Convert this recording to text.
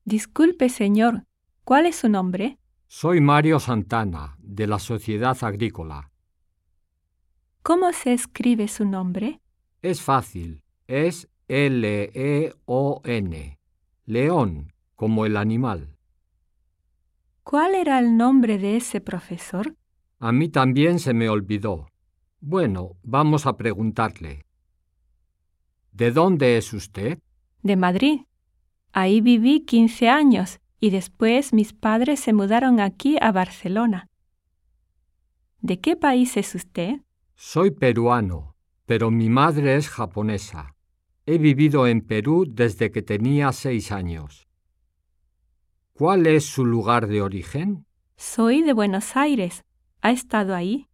Disculpe, señor, ¿cuál es su nombre? Soy Mario Santana, de la Sociedad Agrícola. ¿Cómo se escribe su nombre? Es fácil, es León, león, como el animal. ¿Cuál era el nombre de ese profesor? A mí también se me olvidó. Bueno, vamos a preguntarle. ¿De dónde es usted? De Madrid. Ahí viví 15 años y después mis padres se mudaron aquí a Barcelona. ¿De qué país es usted? Soy peruano, pero mi madre es japonesa. He vivido en Perú desde que tenía 6 años. ¿Cuál es su lugar de origen? Soy de Buenos Aires. ¿Ha estado ahí?